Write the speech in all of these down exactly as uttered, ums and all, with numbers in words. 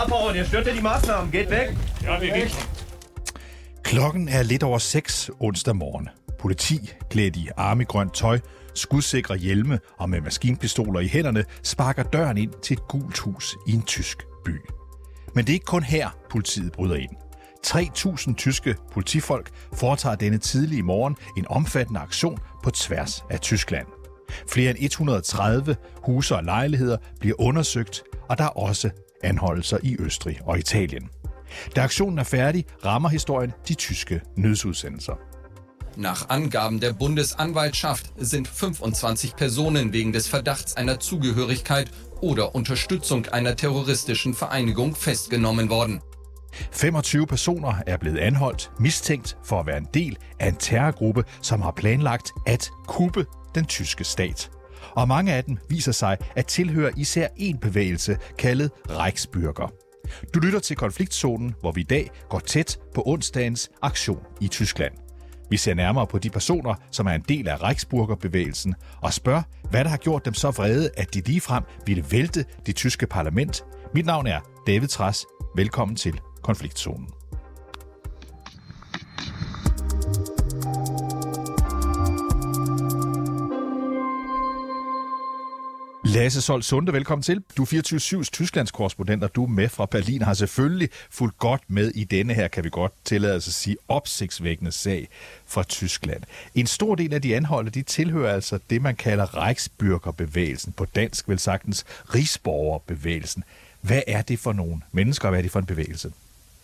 abhauen, ihr stört ja die Maßnahmen. Geht weg. Ja, vi gik. Klokken er lidt over seks onsdag morgen. Politi, klædt i armegrønt tøj, skudsikre hjelme og med maskinpistoler i hænderne, sparker døren ind til et gult hus i en tysk by. Men det er ikke kun her, politiet bryder ind. tre tusind tyske politifolk foretager denne tidlige morgen en omfattende aktion på tværs af Tyskland. Flere end et hundrede og tredive huse og lejligheder bliver undersøgt, og der er også anholdelser i Østrig og Italien. Da aktionen er færdig, rammer historien de tyske nødsudsendelser. Nach Angaben der Bundesanwaltschaft sind fünfundzwanzig Personen wegen des Verdachts einer Zugehörigkeit oder Unterstützung einer terroristischen Vereinigung festgenommen worden. femogtyve personer er blevet anholdt, mistænkt for at være en del af en terrorgruppe, som har planlagt at kuppe den tyske stat. Og mange af dem viser sig at tilhøre især en bevægelse kaldet Reichsbürger. Du lytter til Konfliktzonen, hvor vi i dag går tæt på onsdagens aktion i Tyskland. Vi ser nærmere på de personer, som er en del af Reichsbürger-bevægelsen, og spørger, hvad der har gjort dem så vrede, at de ligefrem ville vælte det tyske parlament. Mit navn er David Trads. Velkommen til Konfliktzonen. Lasse Sold Sunde, velkommen til. Du er fireogtyve syv's Tysklands korrespondent, og du er med fra Berlin, har selvfølgelig fulgt godt med i denne her, kan vi godt tillade os at sige, opsigtsvækkende sag fra Tyskland. En stor del af de anholdte, de tilhører altså det, man kalder Reichsbürgerbevægelsen, på dansk vel sagtens Rigsborgerbevægelsen. Hvad er det for nogle mennesker, og hvad er det for en bevægelse?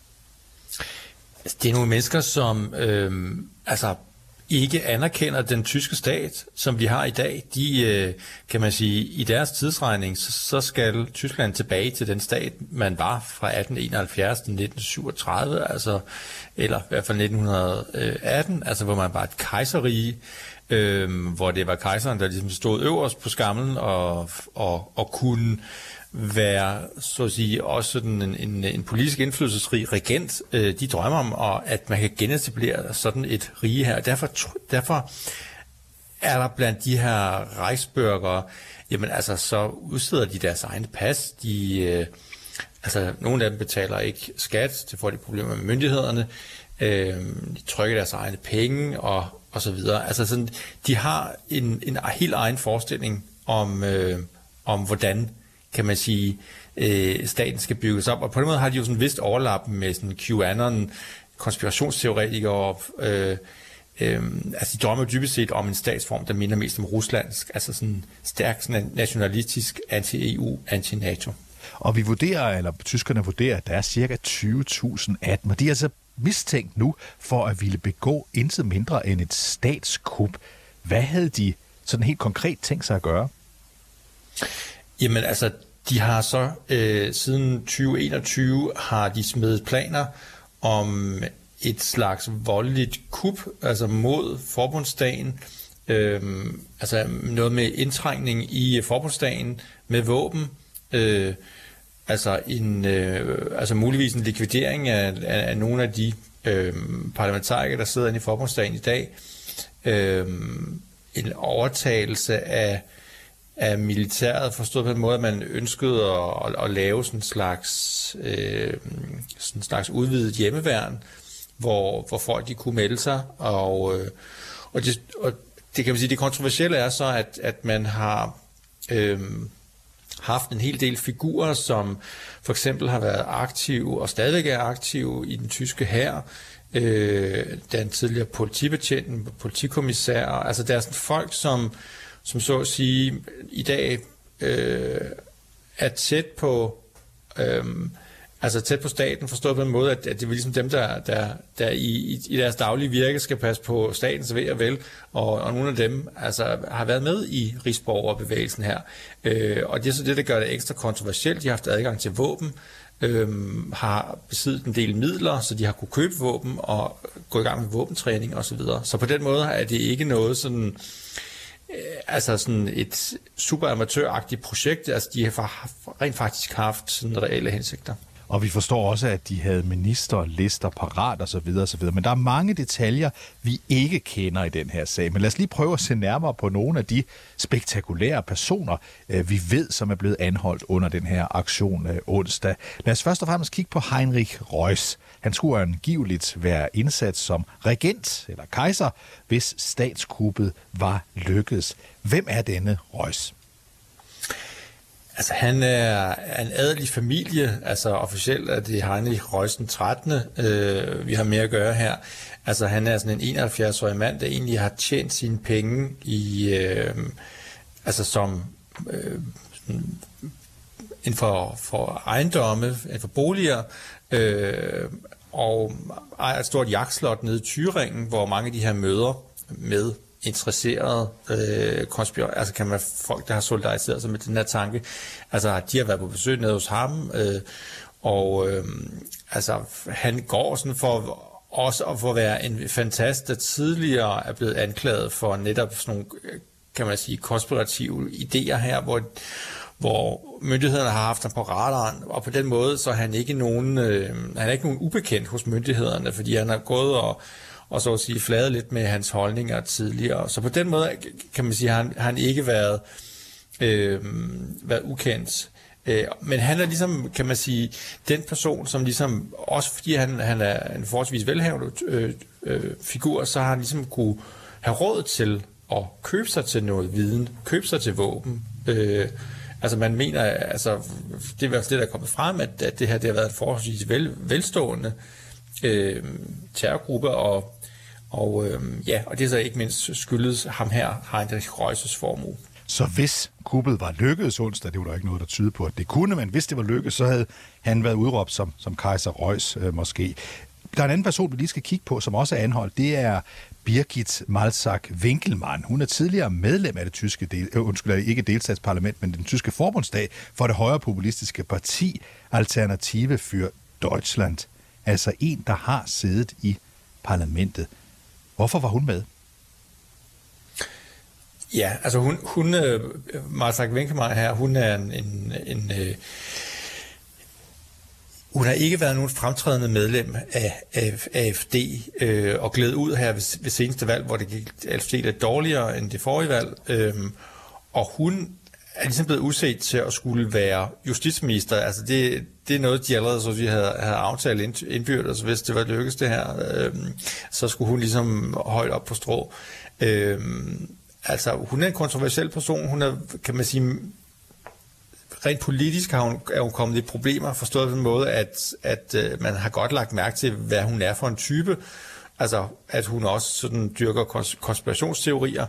Det er nogle mennesker, som øh, altså ikke anerkender den tyske stat, som vi har i dag. De, øh, kan man sige, i deres tidsregning, så, så skal Tyskland tilbage til den stat, man var fra atten enoghalvfjerds til nitten syvogtredive, altså, eller i hvert fald nitten atten, altså hvor man var et kejserrige, øh, hvor det var kejseren, der ligesom stod øverst på skamlen og, og, og kunne være, så at sige, også sådan en, en, en politisk indflydelsesrig regent. Øh, de drømmer om, og at man kan genetablere sådan et rige her. Derfor, derfor er der blandt de her Reichsbürger, jamen altså, så udsteder de deres egne pas. De, øh, altså, nogle af dem betaler ikke skat, det får de problemer med myndighederne. Øh, de trykker deres egne penge, og, og så videre. Altså, sådan, de har en, en helt egen forestilling om, øh, om hvordan, kan man sige, øh, staten skal bygges op. Og på den måde har de jo sådan et vist overlap med sådan QAnon, konspirationsteoretikere. Øh, øh, altså de drømmer dybest set om en statsform, der minder mest om ruslandsk, altså sådan stærk sådan nationalistisk anti-E U, anti-NATO. Og vi vurderer, eller tyskerne vurderer, at der er cirka tyve tusind af dem, og de er altså mistænkt nu for at ville begå intet mindre end et statskup. Hvad havde de sådan helt konkret tænkt sig at gøre? Jamen altså, de har så øh, siden tyve enogtyve har de smedet planer om et slags voldeligt kup, altså mod forbundsdagen, øh, altså noget med indtrængning i forbundsdagen med våben, øh, altså en, øh, altså muligvis en likvidering af, af, af nogle af de øh, parlamentarikere, der sidder inde i forbundsdagen i dag, øh, en overtagelse af af militæret, forstået på den måde, at man ønskede at, at, at lave sådan en slags, øh, sådan en slags udvidet hjemmeværn, hvor, hvor folk de kunne melde sig, og, øh, og, det, og det kan man sige, det kontroversielle er så, at, at man har øh, haft en hel del figurer, som for eksempel har været aktive, og stadigvæk er aktive i den tyske hær, øh, den tidligere politibetjenten, politikommissær, altså der er sådan folk, som som så at sige i dag øh, er tæt på, øh, altså tæt på staten, forstået på en måde, at, at det er ligesom dem, der, der, der i, i deres daglige virke skal passe på statens ve og vel, og, og nogle af dem altså, har været med i Rigsborgerbevægelsen her. Øh, og det er så det, der gør det ekstra kontroversielt. De har haft adgang til våben, øh, har besiddet en del midler, så de har kunne købe våben og gå i gang med våbentræning osv. Så, så på den måde er det ikke noget sådan altså sådan et super amatøragtigt projekt, altså de har rent faktisk haft sådan reelle hensigter. Og vi forstår også, at de havde ministerlister parat og så videre og så videre. Men der er mange detaljer, vi ikke kender i den her sag. Men lad os lige prøve at se nærmere på nogle af de spektakulære personer, vi ved, som er blevet anholdt under den her aktion onsdag. Lad os først og fremmest kigge på Heinrich Reuss. Han skulle angiveligt være indsat som regent eller kejser, hvis statskuppet var lykkedes. Hvem er denne Reuss? Altså, han er en adelig familie, altså officielt er det Heinrich Reuss den trettende, øh, vi har mere at gøre her. Altså, han er sådan en enoghalvfjerds-årig mand, der egentlig har tjent sine penge i, øh, altså som øh, inden for, for ejendomme, inden for boliger, øh, og ejer et stort jagtslot nede i Thüringen, hvor mange af de her møder med interesserede øh, konspirationer, altså kan man folk, der har solidariseret sig med den her tanke, altså de har været på besøg nede hos ham, øh, og øh, altså han går sådan for også at få være en fantast, der tidligere er blevet anklaget for netop sådan nogle, kan man sige, konspirative idéer her, hvor hvor myndighederne har haft ham på radaren, og på den måde så er han ikke nogen, øh, han er ikke nogen ubekendt hos myndighederne, fordi han har gået og og så at sige fladet lidt med hans holdninger tidligere. Så på den måde kan man sige, at han, han ikke været, øh, været ukendt. Øh, men han er ligesom, kan man sige, den person, som ligesom, også fordi han, han er en forholdsvis velhavende øh, øh, figur, så har han ligesom kunne have råd til at købe sig til noget viden, købe sig til våben. Øh, altså man mener, altså det er det, der er kommet frem, at, at det her det har været en forholdsvis vel, velstående øh, terrorgruppe, og Og, øh, ja, og det er så ikke mindst skyldes ham her, Heinrich Reuss' formue. Så hvis kuppet var lykkedes onsdag, det var der ikke noget, der tyder på, at det kunne, men hvis det var lykkedes, så havde han været udråbt som, som kejser Reuss øh, måske. Der er en anden person, vi lige skal kigge på, som også er anholdt. Det er Birgit Malzack-Winkelmann. Hun er tidligere medlem af det tyske, del, øh, undskyld, ikke delstatsparlament, men den tyske forbundsdag for det højre populistiske parti Alternative für Deutschland. Altså en, der har siddet i parlamentet. Hvorfor var hun med? Ja, altså hun, hun Malzack-Winkelmann her, hun er en, en, en øh, hun har ikke været nogen fremtrædende medlem af, af A F D, øh, og gled ud her ved, ved seneste valg, hvor det gik A F D lidt dårligere end det forrige valg, øh, og hun er ligesom blevet udset til at skulle være justitsminister. Altså det, det er noget, de allerede så vi havde, havde aftalt indbyrdes, hvis det var lykkes det her, øh, så skulle hun ligesom højt op på strå. Øh, altså hun er en kontroversiel person, hun er, kan man sige, rent politisk har hun, er hun kommet i problemer, forstået på den måde, at, at øh, man har godt lagt mærke til, hvad hun er for en type, altså at hun også sådan dyrker konspirationsteorier.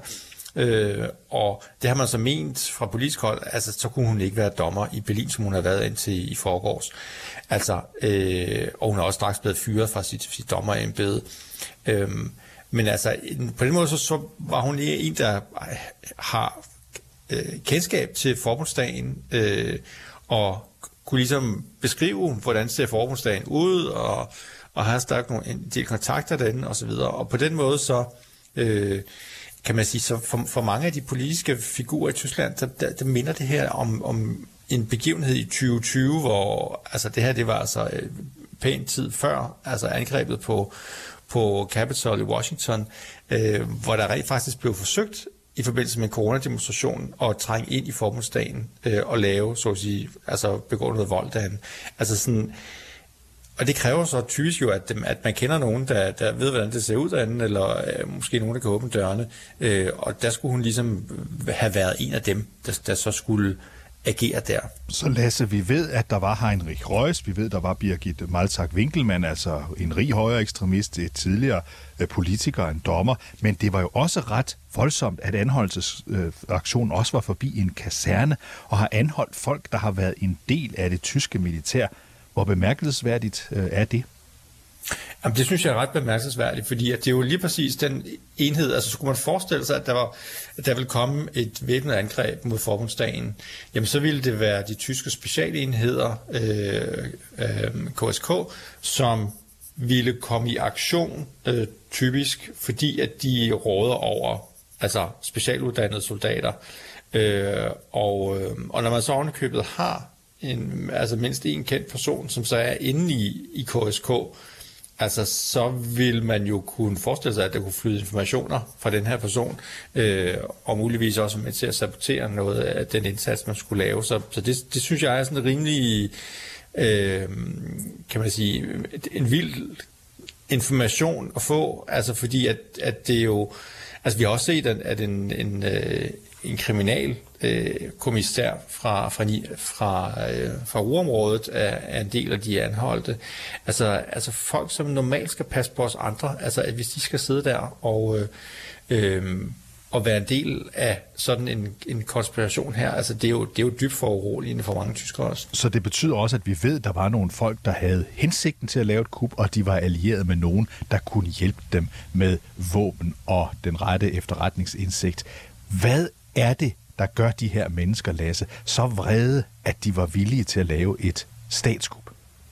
Øh, og det har man så ment fra politisk hold, altså så kunne hun ikke være dommer i Berlin, som hun har været indtil i forgårs. Altså, øh, og hun er også straks blevet fyret fra sit, sit dommerembede. Øh, men altså, på den måde så, så var hun en, der har øh, kendskab til forbundsdagen, øh, og kunne ligesom beskrive, hvordan ser forbundsdagen ud, og, og har stadig nogle, en del kontakter derinde, og så videre. Og på den måde så øh, kan man sige, så for, for mange af de politiske figurer i Tyskland, der, der, der minder det her om, om en begivenhed i tyve tyve, hvor altså det her, det var altså øh, pæn tid før, altså angrebet på, på Capitol i Washington, øh, hvor der rent faktisk blev forsøgt i forbindelse med en coronademonstration at trænge ind i forbundsdagen øh, og lave, så at sige, altså begå noget vold derhen. Altså sådan, og det kræver så typisk jo, at, at man kender nogen, der, der ved, hvordan det ser ud derinde, eller øh, måske nogen, der kan åbne dørene. Øh, og der skulle hun ligesom have været en af dem, der, der så skulle agere der. Så Lasse, vi ved, at der var Heinrich Reuss, vi ved, der var Birgit Malzack-Winkelmann, altså en rig højre ekstremist, et tidligere øh, politiker, en dommer, men det var jo også ret voldsomt, at anholdelsesaktionen øh, også var forbi en kaserne, og har anholdt folk, der har været en del af det tyske militær. Hvor bemærkelsesværdigt øh, er det? Jamen, det synes jeg er ret bemærkelsesværdigt, fordi at det er jo lige præcis den enhed, altså skulle man forestille sig, at der, var, at der ville komme et væbnet angreb mod forbundsdagen, jamen så ville det være de tyske specialenheder, øh, øh, K S K, som ville komme i aktion, øh, typisk, fordi at de råder over altså specialuddannede soldater. Øh, og, øh, og når man så ovenikøbet har en, altså mindst en kendt person, som så er inde i, i K S K, altså så vil man jo kunne forestille sig, at der kunne flyde informationer fra den her person, øh, og muligvis også med til at sabotere noget af den indsats, man skulle lave. Så, så det, det synes jeg er sådan en rimelig, øh, kan man sige, en vild information at få, altså fordi at, at det jo, altså vi har også set, at en, en, en kriminal øh, kommissær fra, fra, fra, øh, fra urområdet er, er en del af de anholdte. Altså, altså folk, som normalt skal passe på os andre, altså at hvis de skal sidde der og, øh, øh, og være en del af sådan en, en konspiration her, altså det er jo, det er jo dybt foruroligende for mange tyskere også. Så det betyder også, at vi ved, at der var nogle folk, der havde hensigten til at lave et kup, og de var allieret med nogen, der kunne hjælpe dem med våben og den rette efterretningsindsigt. Hvad er det, der gør de her mennesker, Lasse, så vrede, at de var villige til at lave et statskup?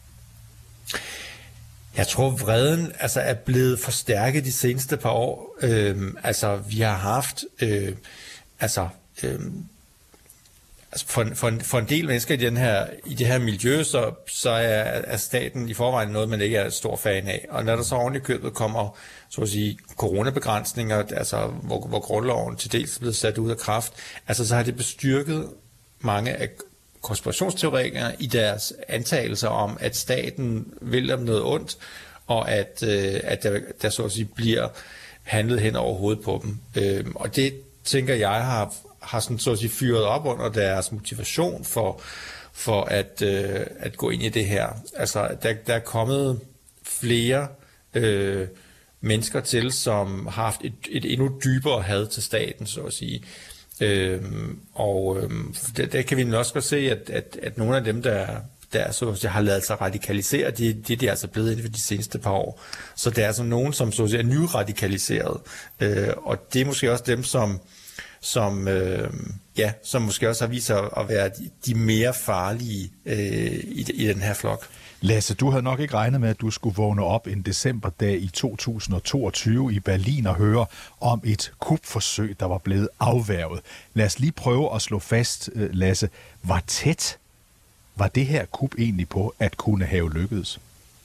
Jeg tror, vreden altså, er blevet forstærket de seneste par år. Øhm, altså, vi har haft... Øh, altså, øh, altså for, for, en, for en del mennesker i, den her, i det her miljø, så, så er, er staten i forvejen noget, man ikke er stor fan af. Og når der så oven i købet kommer, så at sige, coronabegrænsninger, altså, hvor, hvor grundloven til dels er blevet sat ud af kraft, altså, så har det bestyrket mange af konspirationsteoretikere i deres antagelser om, at staten vil dem noget ondt, og at, øh, at der, der så at sige bliver handlet hen over hovedet på dem. Øh, og det, tænker jeg, har, har sådan, så at sige, fyret op under deres motivation for, for at, øh, at gå ind i det her. Altså, der, der er kommet flere øh, mennesker til, som har haft et, et endnu dybere had til staten, så at sige. Øhm, og øhm, der, der kan vi også godt se, at, at, at nogle af dem, der, der så at sige, har lavet sig radikalisere, det, det de er altså blevet inden for de seneste par år. Så der er altså nogen, som så at sige, er nyradikaliseret. Øh, og det er måske også dem, som, som, øh, ja, som måske også har vist sig at være de, de mere farlige øh, i, i den her flok. Lasse, du havde nok ikke regnet med, at du skulle vågne op en decemberdag i to tusind og toogtyve i Berlin og høre om et kupforsøg, der var blevet afværget. Lad os lige prøve at slå fast, Lasse, hvor tæt var det her kup egentlig på at kunne have lykkedes?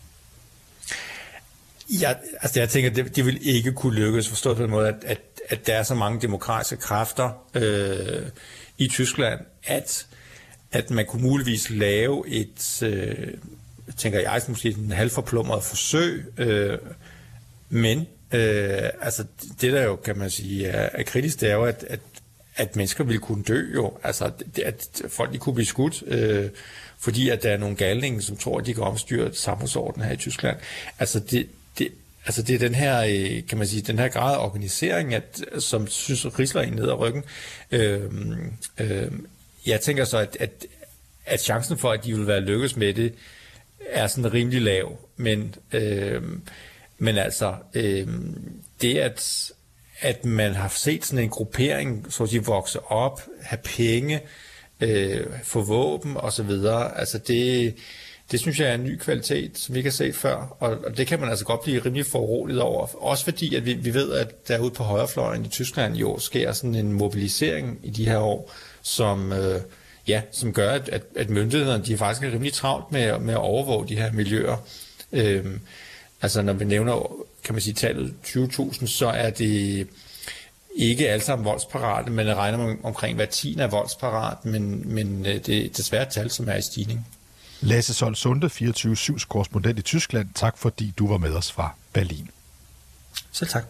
Ja, altså jeg tænker, det, det vil ikke kunne lykkes, forstået på den måde, at, at, at der er så mange demokratiske kræfter øh, i Tyskland, at, at man kunne muligvis lave et... Øh, tænker jeg, måske en halvforplumret forsøg, øh, men øh, altså det der jo, kan man sige, er, er kritisk, det er jo, at, at, at mennesker ville kunne dø jo, altså at folk de kunne blive skudt, øh, fordi at der er nogle galninge, som tror, at de kan omstyre samfundsordenen her i Tyskland. Altså det, det, altså det er den her, kan man sige, den her grad af organisering, at, som synes risler en ned ad ryggen. Øh, øh, jeg tænker så, at, at, at chancen for, at de vil være lykkes med det, er sådan rimelig lav, men, øh, men altså øh, det at, at man har set sådan en gruppering, så at sige, vokse op, have penge, øh, få våben og så videre, altså det, det synes jeg er en ny kvalitet, som vi ikke har set før, og, og det kan man altså godt blive rimelig foruroliget over, også fordi at vi, vi ved, at derude på højrefløjen i Tyskland jo sker sådan en mobilisering i de her år, som øh, Ja, som gør, at, at, at myndighederne de er faktisk er rimelig travlt med, med at overvåge de her miljøer. Øhm, altså når vi nævner, kan man sige, tallet tyve tusind, så er det ikke alle sammen voldsparate, men jeg regner med omkring hver tiende er voldsparat, men, men det er desværre et tal, som er i stigning. Lasse Sold Sunde, fireogtyve syvs korrespondent i Tyskland. Tak fordi du var med os fra Berlin. Selv tak.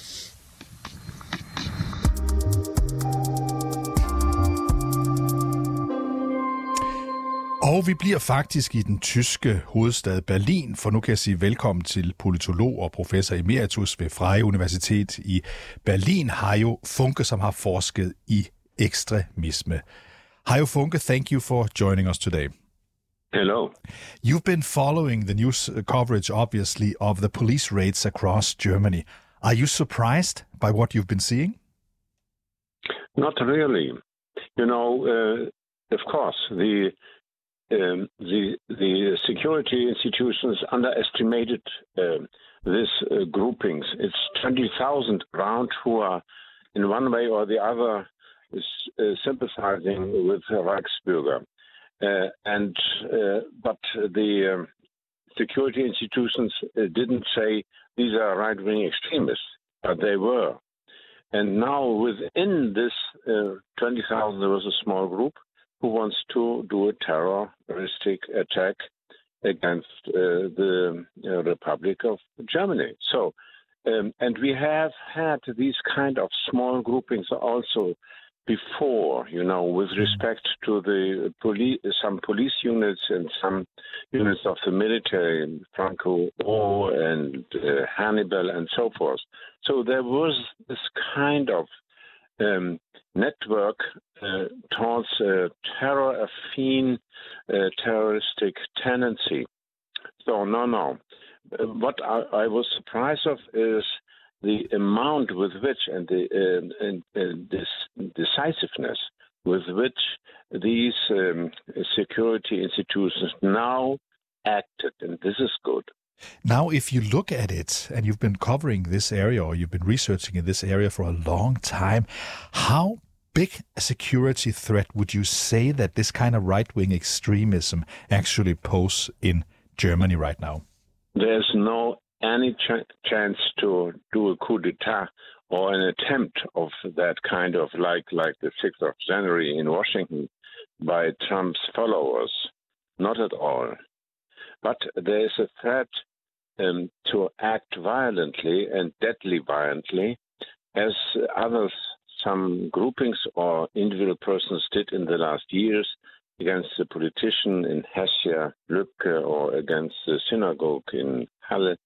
Og vi bliver faktisk i den tyske hovedstad Berlin, for nu kan jeg sige velkommen til politolog og professor emeritus ved Freie Universitet i Berlin, Hajo Funke, som har forsket i ekstremisme. Hajo Funke, thank you for joining us today. Hello. You've been following the news coverage, obviously, of the police raids across Germany. Are you surprised by what you've been seeing? Not really. You know, uh, of course, the Um, the the security institutions underestimated uh, this uh, groupings. It's twenty thousand around who are in one way or the other is, uh, sympathizing with the Reichsbürger. Uh, and uh, but the um, security institutions uh, didn't say these are right-wing extremists, but they were. And now within this uh, twenty thousand, there was a small group who wants to do a terroristic attack against uh, the uh, Republic of Germany. So, um, and we have had these kind of small groupings also before, you know, with respect to the police, some police units and some units of the military, Franco O and uh, Hannibal and so forth. So there was this kind of um, network uh, towards a terror-affine, uh, terroristic tendency. So no, no. What I, I was surprised of is the amount with which and the uh, and, and this decisiveness with which these um, security institutions now acted, and this is good. Now, if you look at it, and you've been covering this area or you've been researching in this area for a long time, how big a security threat would you say that this kind of right-wing extremism actually pose in Germany right now? There's no any ch- chance to do a coup d'etat or an attempt of that kind of like like the sixth of January in Washington by Trump's followers. Not at all. But there is a threat um, to act violently and deadly violently, as others, some groupings or individual persons did in the last years against the politician in Hesse, Lübcke, or against the synagogue in Halle,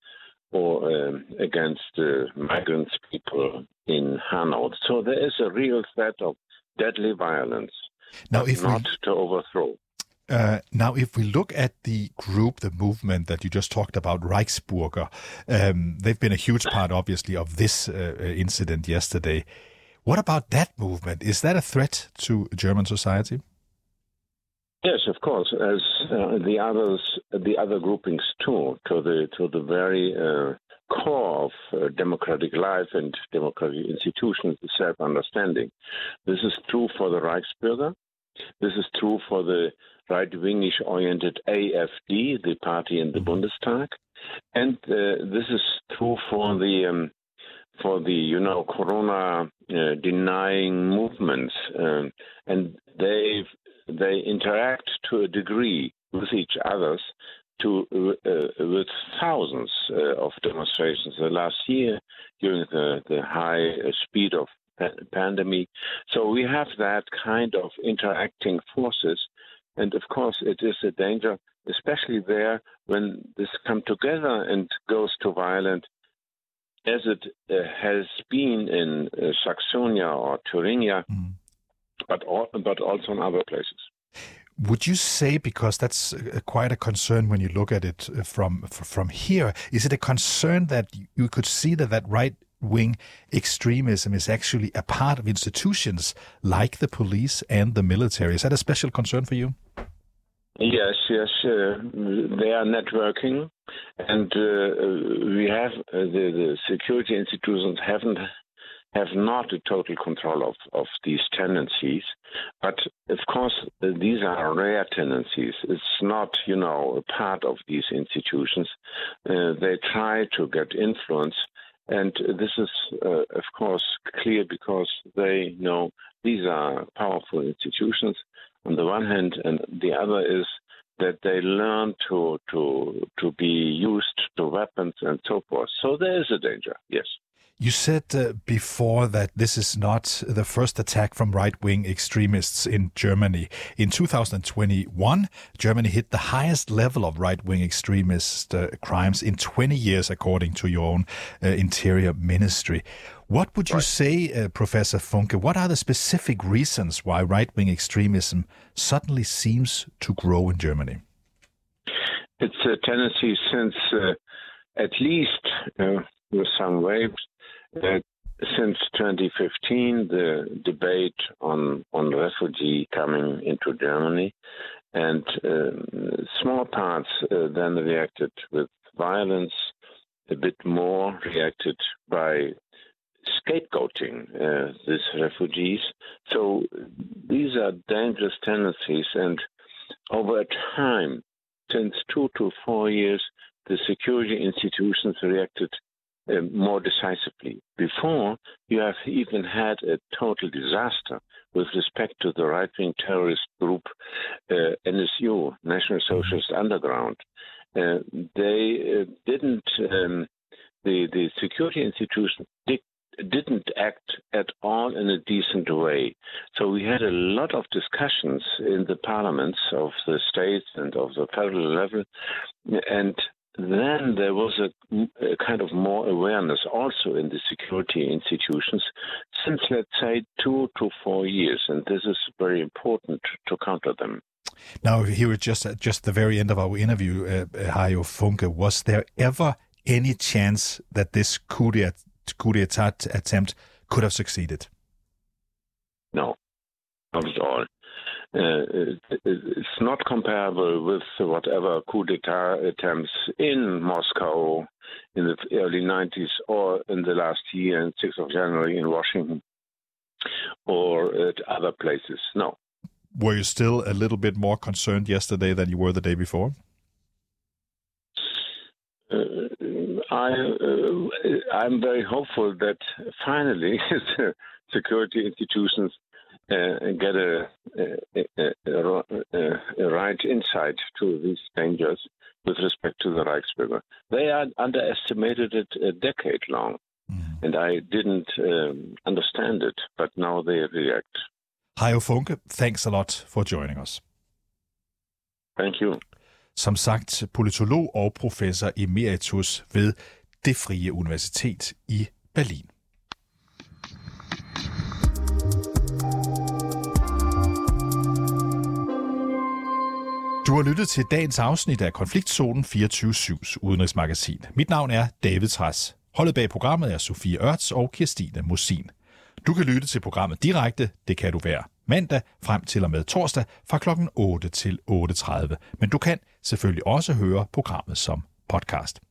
or um, against the uh, migrant people in Hanau. So there is a real threat of deadly violence, now, if not we, to overthrow. Uh, now, if we look at the group, the movement that you just talked about, Reichsbürger, um, they've been a huge part, obviously, of this uh, incident yesterday. What about that movement? Is that a threat to German society? Yes, of course, as uh, the others, the other groupings too, to the to the very uh, core of uh, democratic life and democratic institutions, the self-understanding. This is true for the Reichsbürger. This is true for the right-wingish oriented A F D, the party in the Bundestag, and uh, this is true for the um, for the you know Corona uh, denying movements, um, and they they interact to a degree with each others, to uh, with thousands uh, of demonstrations the last year during the the high speed of pandemic. So we have that kind of interacting forces. And of course, it is a danger, especially there when this come together and goes to violence, as it uh, has been in uh, Saxonia or Thuringia, mm. but, all, but also in other places. Would you say, because that's quite a concern when you look at it from from here, is it a concern that you could see that that right-wing extremism is actually a part of institutions like the police and the military? Is that a special concern for you? Yes, yes. Uh, they are networking, and uh, we have uh, the, the security institutions haven't have not a total control of, of these tendencies. But, of course, uh, these are rare tendencies. It's not, you know, a part of these institutions. Uh, they try to get influence. And this is, uh, of course, clear because they know these are powerful institutions on the one hand, and the other is that they learn to, to, to be used to weapons and so forth. So there is a danger, yes. You said uh, before that this is not the first attack from right-wing extremists in Germany. In two thousand twenty-one, Germany hit the highest level of right-wing extremist uh, crimes in twenty years, according to your own uh, Interior Ministry. What would you right. say, uh, Professor Funke, what are the specific reasons why right-wing extremism suddenly seems to grow in Germany? It's a tendency since uh, at least uh, with some waves, Uh, since twenty fifteen, the debate on, on refugee coming into Germany, and uh, small parts uh, then reacted with violence, a bit more reacted by scapegoating uh, these refugees. So these are dangerous tendencies, and over time, since two to four years, the security institutions reacted uh, more decisively. Before, you have even had a total disaster with respect to the right-wing terrorist group uh, N S U, National Socialist Underground. Uh, they uh, didn't, um, the, the security institution did, didn't act at all in a decent way. So we had a lot of discussions in the parliaments of the states and of the federal level, and then there was a, a kind of more awareness also in the security institutions since, let's say, two to four years, and this is very important to counter them. Now, here at just at just the very end of our interview, uh, Hajo Funke, was there ever any chance that this coup d'etat, coup d'etat attempt could have succeeded? No, not at all. Uh, it's not comparable with whatever coup d'etat attempts in Moscow in the early nineties or in the last year, on sixth of January in Washington or at other places. No. Were you still a little bit more concerned yesterday than you were the day before? Uh, I, uh, I'm very hopeful that finally the security institutions uh, get a, a, a, a, a right insight to these dangers with respect to the Reichsbürger. They had underestimated it a decade long, mm. and I didn't um, understand it, but now they react. Hajo Funke, thanks a lot for joining us. Thank you. Som sagt, politolog og professor emeritus ved Det Frie Universitet i Berlin. Du har lyttet til dagens afsnit af Konfliktzonen fireogtyve syvs udenrigsmagasin. Mit navn er David Trads. Holdet bag programmet er Sofie Ørts og Kirstine Mosin. Du kan lytte til programmet direkte, det kan du hver mandag frem til og med torsdag fra klokken otte til otte tredive. Men du kan selvfølgelig også høre programmet som podcast.